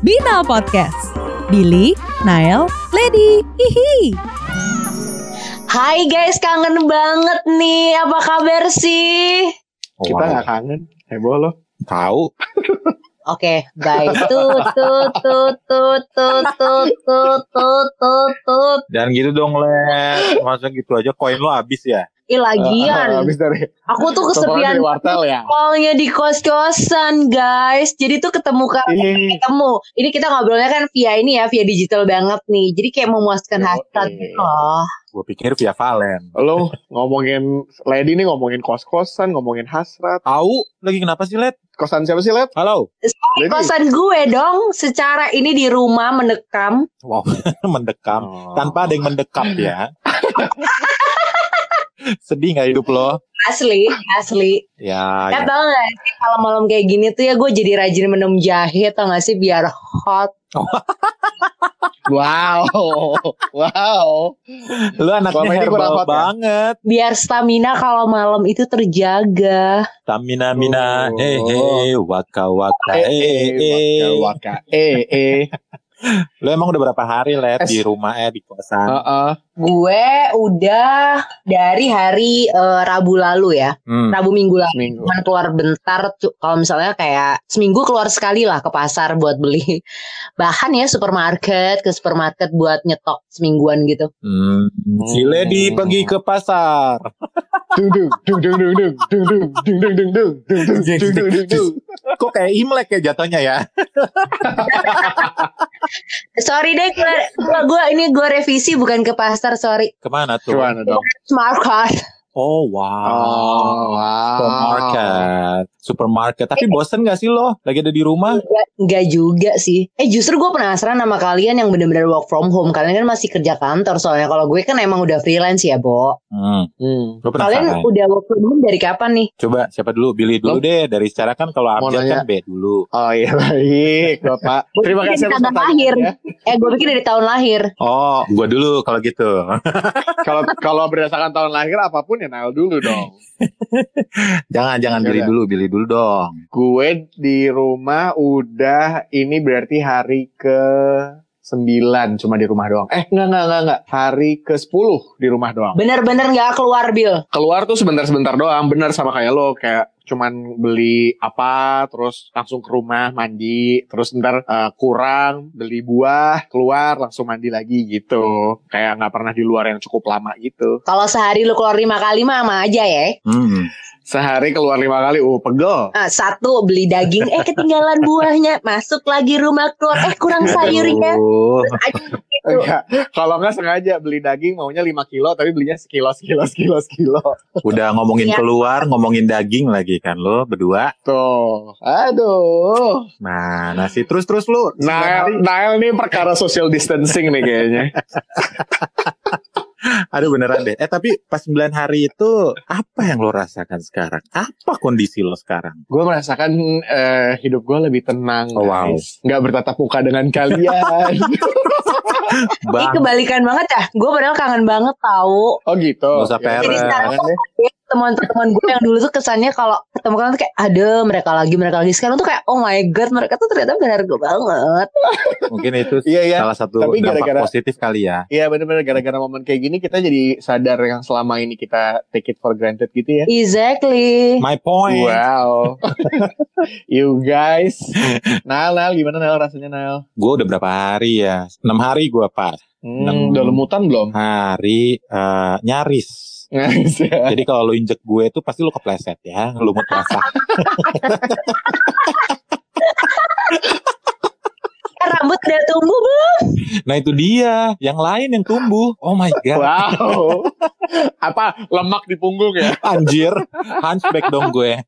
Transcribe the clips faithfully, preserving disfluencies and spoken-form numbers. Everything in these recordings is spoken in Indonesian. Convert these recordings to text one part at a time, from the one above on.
Bina Podcast. Billy, Nael, Lady, hihi. Hai guys, kangen banget nih. Apa kabar sih? Oh, kita nggak wow. kangen, heboh lo. Tahu. Oke, bye. Tut tut tut tut tut tut tut tut tut tut. Jangan gitu dong, Le. Masa gitu aja koin lo habis ya? Ih, lagian. Uh, habis dari. Aku tuh kesepian ya. callnya di kos-kosan, guys. Jadi tuh ketemu kan ketemu. Ini kita ngobrolnya kan via ini ya, via digital banget nih. Jadi kayak memuaskan hasrat gitu loh. Gue pikir via Valen. Lo ngomongin Lady nih, ngomongin kos-kosan, ngomongin hasrat. Tahu lagi kenapa sih, Led? Kosan siapa sih, Led? Halo. Kosan gue dong. Secara ini di rumah mendekam. Wow, mendekam. Oh. Tanpa ada yang mendekap ya. Sedih gak hidup lo? Asli, asli. Ya, ya. ya. Tau gak sih kalau malam kayak gini tuh ya gue jadi rajin minum jahe, tau gak sih, biar hot. Wow, wow. Lu anaknya herbal banget. Biar stamina kalau malam itu terjaga. Stamina mina, oh. eh eh, waka waka, eh eh, waka waka, eh eh. Lu emang udah berapa hari, Led, di rumah eh di kosan? Uh-uh. Gue udah dari hari uh, Rabu lalu ya, hmm. Rabu minggu lalu. Cuman keluar bentar. Kalau misalnya kayak seminggu keluar sekali lah ke pasar buat beli bahan ya, supermarket ke supermarket buat nyetok semingguan gitu. Hmm. Si Lady pergi ke pasar. Dung dung dung dung dung dung dung dung dung dung dung dung dung dung dung. Kok kayak Imlek ya jatuhnya ya? Sorry deh, gue, gue ini gue revisi bukan ke pasar, sorry. Kemana tuh? Kemana dong? Supermarket. Oh wow, oh, wow. Supermarket, supermarket. Tapi bosen gak sih lo? Lagi ada di rumah? Enggak, enggak juga sih. Eh justru gue penasaran sama kalian yang benar-benar work from home. Kalian kan masih kerja kantor soalnya. Kalau gue kan emang udah freelance ya, Bo. Hmm. hmm. Kalian udah work from home dari kapan nih? Coba siapa dulu? Billy dulu lo? Deh. Dari secara kan kalau Abjad kan B dulu. Oh iya baik, Bapak. Terima kasih atas lahir. Ya. Eh gue pikir dari tahun lahir. Oh, gue dulu kalau gitu. Kalau kalau berdasarkan tahun lahir apapun ya Nael dulu dong. jangan jangan Billy dulu, Billy dulu dong. Gue di rumah udah ini berarti hari ke sembilan cuma di rumah doang. Eh enggak enggak enggak enggak. Hari ke sepuluh di rumah doang. Bener-bener enggak keluar, Bil. Keluar tuh sebentar-sebentar doang, bener sama kayak lo, kayak cuman beli apa terus langsung ke rumah mandi, terus ntar uh, kurang beli buah, keluar langsung mandi lagi gitu. Kayak nggak pernah di luar yang cukup lama gitu. Kalau sehari lu keluar lima kali mah sama aja ya. Hmm. Sehari keluar lima kali, uh pegel. Nah, satu beli daging, eh ketinggalan buahnya, masuk lagi rumah keluar, eh kurang sayurnya. Gitu. Kalau nggak sengaja beli daging maunya lima kilo, tapi belinya sekilo, sekilo, sekilo, sekilo. Udah ngomongin ya. Keluar, ngomongin daging lagi kan lo berdua. Tuh, aduh. Nah, nasi terus-terus lu. Nael, Nael nih perkara social distancing nih kayaknya. Aduh beneran deh. Eh tapi pas sembilan hari itu apa yang lo rasakan sekarang? Apa kondisi lo sekarang? Gue merasakan uh, hidup gue lebih tenang. Oh, wow. Gak bertatap muka dengan kalian. Ini kebalikan banget ya. Gue padahal kangen banget tahu. Oh gitu. Gak usah peres. Jadi sekarang tuh teman-teman gue yang dulu tuh kesannya kalau ketemu kalian tuh kayak ada mereka lagi mereka lagi. Sekarang tuh kayak oh my god, mereka tuh ternyata berharga banget. Mungkin itu iya, iya. salah satu tapi dampak gara-gara, positif kali ya. Iya benar-benar gara-gara momen kayak gini kita jadi sadar yang selama ini kita take it for granted gitu ya. Exactly. My point. Wow. You guys. Nael, Nael gimana Nael rasanya Nael? Gue udah berapa hari ya? enam hari gue pas. Hmm, udah lemutan belum? Hari uh, nyaris. Jadi kalau lo injek gue tuh pasti lo kepleset ya, lumut basah. Rambut udah tumbuh belum? Nah itu dia, yang lain yang tumbuh. Oh my god. Wow. Apa lemak di punggung ya? Anjir, hunchback dong gue.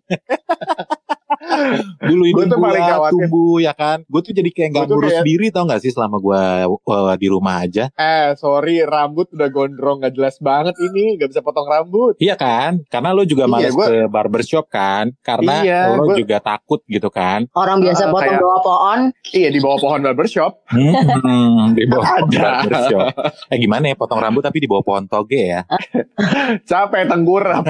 Dulu ini gue tumbuh ya kan. Gue tuh jadi kayak gak ngurus kayak... diri tau gak sih selama gue uh, di rumah aja. Eh sorry, rambut udah gondrong gak jelas banget ini. Gak bisa potong rambut. Iya kan, karena lo juga males iya, gua... ke barbershop kan. Karena iya, lo gua... juga takut gitu kan. Orang biasa uh, potong kayak... bawah pohon. Iya di bawah pohon barbershop. Hmm, di bawah barbershop. Eh gimana ya potong rambut tapi di bawah pohon toge ya. Capek tengkurap.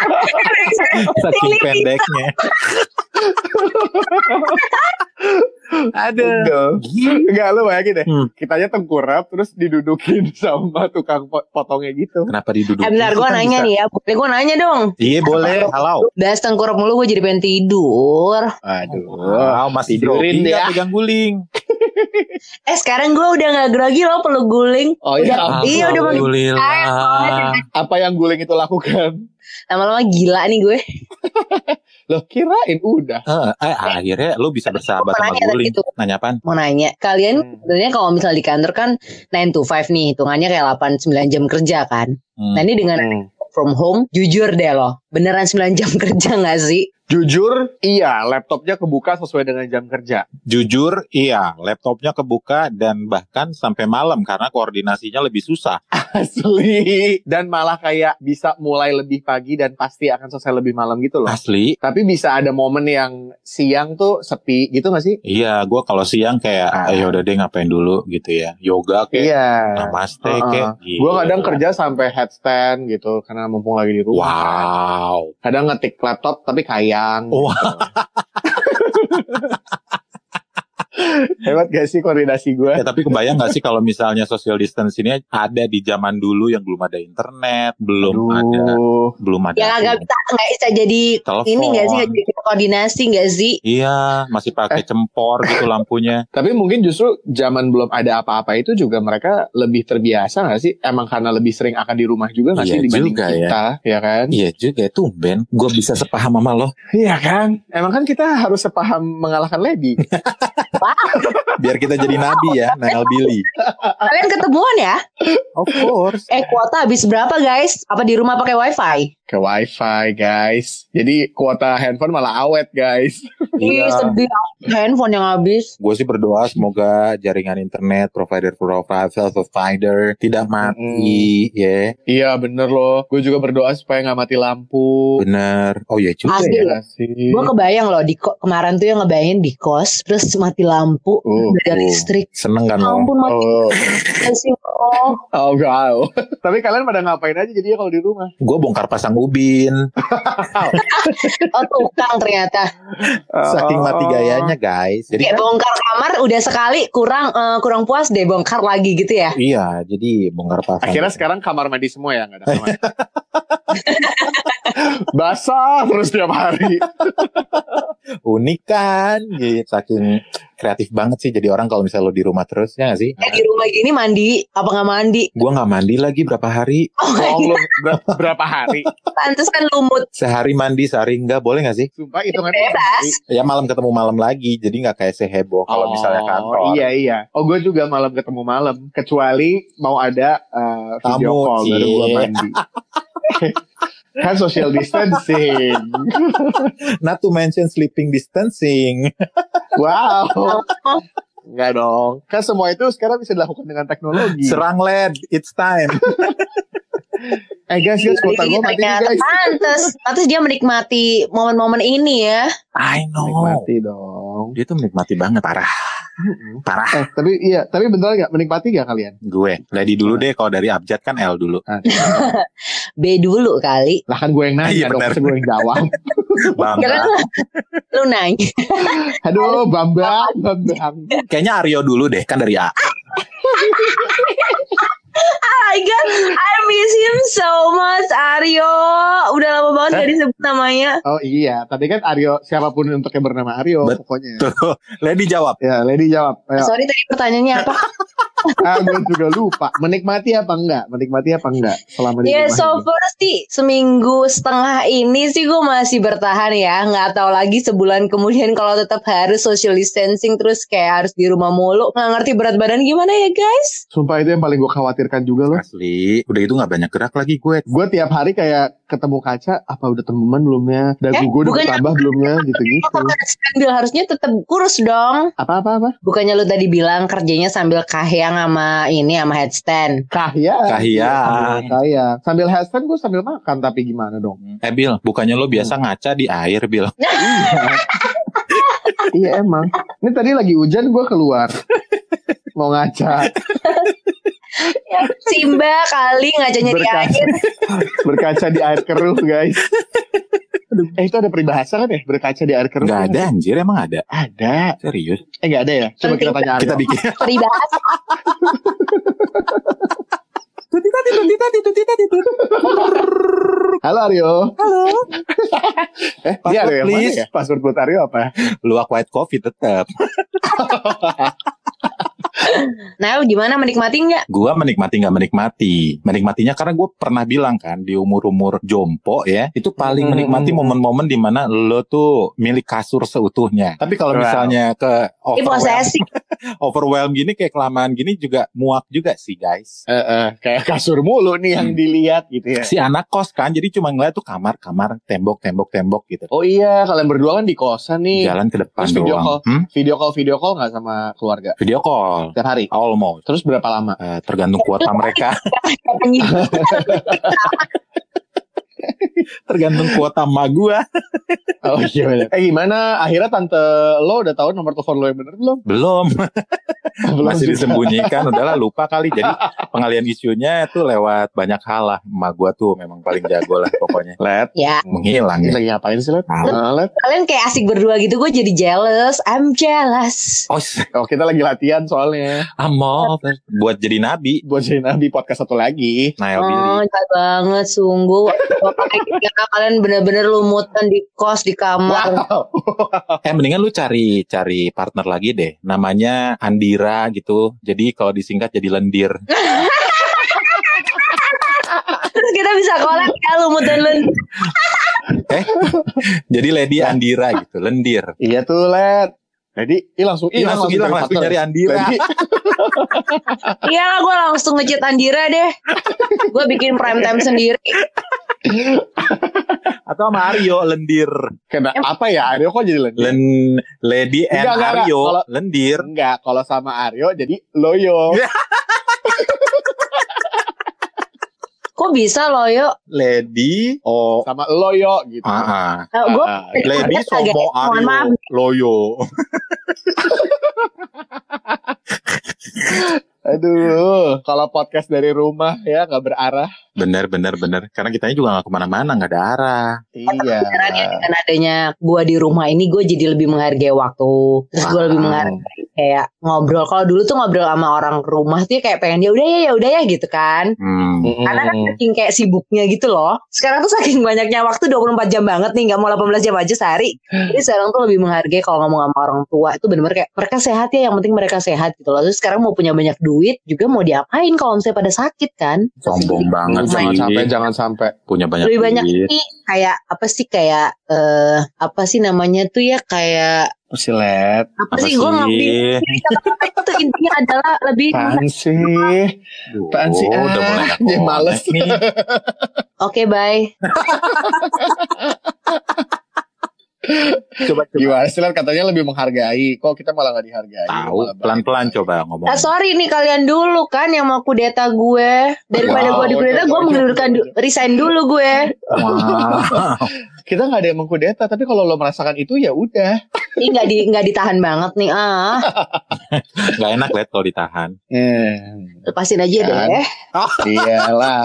Saking pendeknya. Aduh. Enggak, lu bayangin deh. Hmm. Kitanya tengkurap terus didudukin sama tukang potongnya gitu. Kenapa didudukin? Eh bentar gue Kan nanya bisa. nih ya. Boleh gue nanya dong. Iya boleh, halau. Bahas tengkurap mulu gue jadi pengen tidur. Aduh. Wow, masih Tidurin grogi deh ya ya. pegang guling. Eh sekarang gue udah gak grogi loh peluk guling. Oh Udah, iya. iya udah makin Alhamdulillah. Apa yang guling itu lakukan? lama-lama gila nih gue. Loh kirain udah. Eh, eh, akhirnya lu bisa bersahabat Mau sama nanya guling. gitu. Nanya apaan? Mau nanya, kalian Hmm. sebenarnya kalau misalnya di kantor kan nine to five nih, hitungannya kayak delapan sembilan jam kerja kan. Hmm. Nah ini dengan Hmm. from home, jujur deh loh, beneran sembilan jam kerja gak sih? Jujur, iya, laptopnya kebuka sesuai dengan jam kerja. Jujur, iya, laptopnya kebuka dan bahkan sampai malam karena koordinasinya lebih susah. Asli. Dan malah kayak bisa mulai lebih pagi dan pasti akan selesai lebih malam gitu loh. Asli. Tapi bisa ada momen yang siang tuh sepi gitu gak sih? Iya, gue kalau siang kayak, Ah. ayo udah deh ngapain dulu gitu ya. Yoga kayak, Iya. namaste Uh-uh. kayak. Gue kadang kerja sampai headstand gitu karena mumpung lagi di rumah. Wow. Kadang ngetik laptop tapi kayang. Wah. Gitu. Hebat gak sih koordinasi gue? Ya, tapi kebayang gak sih kalau misalnya social distance ini ada di zaman dulu yang belum ada internet, belum ada, belum ada. Yang agak bisa nggak bisa jadi Telepon. ini nggak sih, nggak jadi koordinasi nggak sih? Iya, masih pakai cempor gitu lampunya. Tapi mungkin justru zaman belum ada apa-apa itu juga mereka lebih terbiasa gak sih? Emang karena lebih sering akan di rumah juga gak Iya sih dibanding juga ya. kita, ya kan? Iya juga tuh Ben, gue bisa sepaham sama lo. Iya kan? Emang kan kita harus sepaham mengalahkan Lady. Biar kita jadi nabi ya, Nail Billy. Kalian ketemuan ya? Of course. Eh kuota habis berapa guys? Apa di rumah pakai wifi? Ke wifi guys. Jadi kuota handphone malah awet guys. Ih Iya. sedih, handphone yang habis. Gue sih berdoa semoga jaringan internet provider-provider provider tidak mati, ya. Iya bener loh. Gue juga berdoa supaya gak mati lampu. Bener. Oh iya juga Asli. ya. Iya sih. Gue kebayang loh di ko- kemarin tuh yang ngebayangin di kos terus mati lampu, Uh, udah ada uh. listrik. Seneng kan Ya lo? ampun mati Oh, sih. Oh. oh wow. Tapi kalian pada ngapain aja jadinya kalau di rumah? Gue bongkar pasang ubin. Oh tukang ternyata. Saking Oh. mati gayanya guys. Jadi Kayak kan, bongkar kamar udah sekali kurang eh, kurang puas deh bongkar lagi gitu ya. iya, jadi bongkar pasang. Akhirnya sekarang kamar mandi semua ya, nggak ada kamar. Basah terus tiap hari. unik kan, gitu. Saking kreatif banget sih jadi orang kalau misalnya lo di rumah terus, ya gak sih? Eh di rumah gini mandi apa nggak mandi? Gue nggak mandi lagi berapa hari, Oh Oh, lu ber- berapa hari? pantes kan lumut. sehari mandi sehari enggak, boleh gak sih? Sumpah hitungannya Bebas. Ya malam ketemu malam lagi, jadi nggak kayak seheboh kalau misalnya kantor. Iya iya. Oh gue juga malam ketemu malam. Kecuali mau ada uh, video Tamu, call baru gue cie. mandi. Kan social distancing. Not to mention sleeping distancing. Wow. Enggak dong. Kan semua itu sekarang bisa dilakukan dengan teknologi. Serang led, it's time. Eh guys, guys, kuota gue mati nih Ternyata guys. pantes, pantes dia menikmati momen-momen ini ya. I know. Menikmati dong. Dia tuh menikmati banget, parah. Parah. Eh, tapi iya, tapi beneran gak menikmati gak kalian? Gue, Lady dulu deh, kalau dari abjad kan L dulu. B dulu kali. Lah kan gue yang nanya Iya, dong, bener. masa gue yang jawab. Ya kan Bangga. lu nanya. Aduh, Bambang, Bambang. Kayaknya Aryo dulu deh, kan dari A. Oh my god, I miss him so much, Aryo. Udah lama banget gak disebut namanya. Oh iya, tadi kan Aryo, siapapun untuk yang bernama Aryo, Bet- pokoknya. Tuh, Lady jawab. Ya, Lady jawab. Ayo. Sorry tadi pertanyaannya apa? Ah, gue juga lupa. Menikmati apa enggak? Menikmati apa enggak selama di Ya rumah so ini? first sih seminggu setengah ini sih gue masih bertahan ya. Nggak tahu lagi sebulan kemudian kalau tetap harus social distancing terus kayak harus di rumah mulu. Nggak ngerti berat badan gimana ya guys? Sumpah itu yang paling gue khawatirkan juga loh. Asli, udah itu gak banyak gerak lagi gue. Gue tiap hari kayak ketemu kaca, apa udah temen belum ya? Dagu Eh, gue udah bukannya- bertambah belum ya? Gitu-gitu. Sambil harusnya tetap kurus dong. Apa-apa-apa? Bukannya lu tadi bilang kerjanya sambil kahyang sama ini sama headstand. Kahya. Kahiyang. Kahya. Sambil headstand gue sambil makan, tapi gimana dong? Eh Bil, bukannya lo biasa ngaca di air, Bil? Iya emang. Ini tadi lagi hujan gue keluar. Mau ngaca. Ya, Simba kali ngajanya di Berkaca. air. Berkaca di air keruh guys. Eh itu ada peribahasa kan ya? Berkaca di air keruh. Gak ada anjir, emang ada? Ada. Serius? Eh gak ada ya? Coba kita tanya Aryo. Kita bikin. Peribahasa. Tutita tutita tutita tutita. Halo Aryo. Halo. Eh dia Aryo yang mana please. ya? Password buat Aryo apa? Luwak white coffee tetap. Nah, gimana menikmati nggak? Gua menikmati nggak menikmati. Menikmatinya karena gue pernah bilang kan di umur-umur jompo ya, itu paling Hmm. menikmati momen-momen di mana lo tuh milik kasur seutuhnya. Tapi kalau Wow. misalnya ke Ini overwhelm, posesif. overwhelm gini kayak kelamaan gini juga muak juga sih guys. Eh, eh, kayak kasur mulu nih yang Hmm. dilihat gitu ya. Si anak kos kan, jadi cuma ngeliat tuh kamar-kamar, tembok-tembok-tembok gitu. Oh iya, kalian berdua kan di kosan nih. Jalan ke depan Terus video doang. call. Hmm? Video call video call nggak sama keluarga? Video call, Tiap hari. almost. Terus berapa lama? Eh, tergantung kuota mereka. Tergantung kuota emak gua. Oh iya bener. Eh gimana? Akhirnya tante lo udah tahu nomor telepon lo yang bener belum? Belum. Belum Masih juga. disembunyikan. Udahlah lupa kali. Jadi pengalian isunya itu lewat banyak hal lah. Emak gua tuh memang paling jago lah pokoknya. Let. Ya, Menghilang Ini ya. lagi ngapain sih Let? Tahu. Nah, Let. kalian kayak asik berdua gitu, gue jadi jealous. I'm jealous. Oh, Oh kita lagi latihan soalnya. amo. Buat jadi nabi. Buat jadi nabi podcast satu lagi. Nail Oh, Billy. jahat banget sungguh. Bapak kayak kalian bener-bener lumutan di kos di kamar. Wow. Eh mendingan lu cari cari partner lagi deh. Namanya Andira gitu. Jadi kalau disingkat jadi lendir. Terus kita bisa collab ya lumut dan len. Eh, jadi Lady Andira gitu, lendir. Iya tuh Let. Jadi ini langsung Ih, langsung hilang, langsung partner. nyari Andira. Jadi, Iya lah, gue langsung ngechat Andira deh. Gue bikin prime time sendiri. Atau sama Aryo, lendir. kena apa ya? Aryo kok jadi lendir? Len Lady and Enggak, enggak, enggak. Aryo, Kalau- lendir. Enggak, kalau sama Aryo jadi loyo. Kok bisa loh yuk? Lady, oh, Sama loyo gitu. ah, ah. Gue Ah, Lady Somo mohon maaf. Aryo, Loyo. Aduh, kalau podcast dari rumah ya nggak berarah. Bener, bener, bener. Karena kitanya juga gak kemana-mana, gak ada arah. Iya. Beneran ya, dengan adanya gue di rumah ini, gue jadi lebih menghargai waktu. Terus gue lebih Wow. menghargai kayak ngobrol. Kalau dulu tuh ngobrol sama orang rumah tuh kayak pengen ya udah ya ya udah ya gitu kan. Hmm. Mm-mm. Karena kan saking kayak sibuknya gitu loh. Sekarang tuh saking banyaknya waktu dua puluh empat jam banget nih, nggak mau delapan belas jam aja sehari. Jadi sekarang tuh lebih menghargai kalau ngomong sama orang tua itu bener-bener kayak mereka sehat ya, yang penting mereka sehat gitu loh. Terus sekarang mau punya banyak duit juga mau diapain kalau misalnya pada sakit kan? Sombong banget Jangan sih. sampai, jangan sampai. Punya banyak Lebih banyak duit. sih kayak apa sih kayak eh apa sih namanya tuh ya kayak Silet. apa, Apa sih gue nggak sih? itu intinya adalah lebih Apaan sih? Apaan sih? Oh, udah Ah, mulai gak dia males connect nih. oke bye. Coba, coba. Gimana sih Let? Katanya lebih menghargai. Kok kita malah nggak dihargai? Tahu, Malah pelan-pelan baik. coba ngomong. Ah, sorry nih kalian dulu kan yang mau kudeta gue. Daripada Wow, gue dikudeta, oke, gue oke, mengundurkan oke. du- resign dulu gue. Wow. Kita nggak ada yang mengkudeta, tapi kalau lo merasakan itu ya udah. Ini nggak di nggak ditahan banget nih ah. Gak enak liat kalau ditahan. Hmm. Lepasin aja Kan? deh. Iyalah.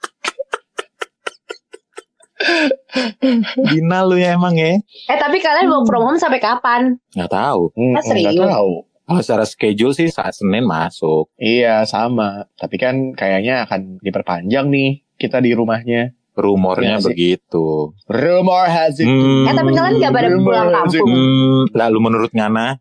Dina lu ya emang ya. Eh tapi kalian work from home sampai kapan? Gak tahu. Hmm, Ah, serius? nggak tahu. Kalau secara schedule sih saat Senin masuk. Iya sama. Tapi kan kayaknya akan diperpanjang nih kita di rumahnya. Rumornya Iya sih. begitu. Rumor has it. Hmm. Eh tapi kalian nggak pada pulang kampung. Hmm, lalu menurut Ngana,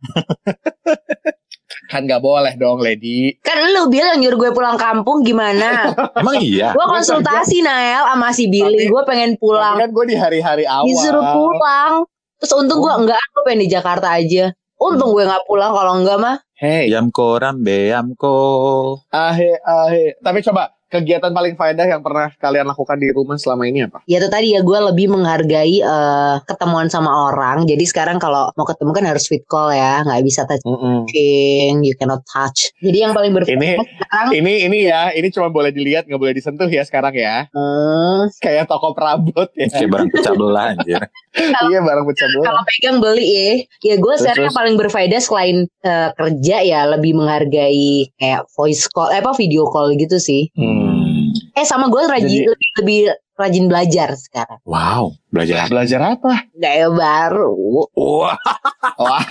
Kan nggak boleh dong, Lady. Kan lu bilang nyuruh gue pulang kampung gimana? emang iya. Gue konsultasi Nael sama si Billy. Tapi- Gue pengen Tapi pulang. kan gue di hari-hari awal. Disuruh pulang. Terus untung gue enggak, gue pengen di Jakarta aja. Untung gue nggak pulang, kalau enggak mah. Hey, Yamko rambe yamko. ahe, ahe. Tapi coba, kegiatan paling faedah yang pernah kalian lakukan di rumah selama ini apa? Ya itu tadi ya, gue lebih menghargai eh, ketemuan sama orang. Jadi sekarang kalau mau ketemu kan harus fit call ya, nggak bisa touching, you cannot touch. Jadi yang paling berfaedah Ini- sekarang, Ini ini ya, ini cuma boleh dilihat, nggak boleh disentuh ya sekarang ya. hmm, Kayak toko perabot ya. Kayak barang pecah belah anjir. Iya, barang pecah belah. kalau pegang beli ya. Ya gue Terus, sekarang yang terus. paling berfaedah selain eh, kerja ya lebih menghargai kayak voice call, eh apa video call gitu sih. Hmm. Eh sama gue rajin Jadi- lebih, lebih rajin belajar sekarang. Wow, belajar belajar apa? Gaya baru. Wah. Wah.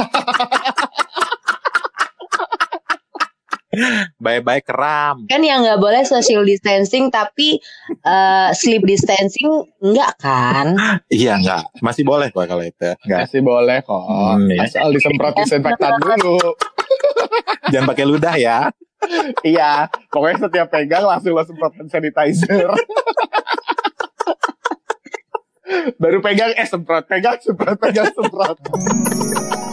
Bye-bye keram. Kan yang nggak boleh social distancing tapi uh, sleep distancing enggak kan? Iya enggak, masih boleh kok kalau itu. Enggak. Masih boleh kok. Hmm, ya. Asal disemprot disinfektan dulu. Jangan pakai ludah ya. Iya, pokoknya setiap pegang langsung lo semprot hand sanitizer. Baru pegang eh semprot, pegang semprot, pegang semprot.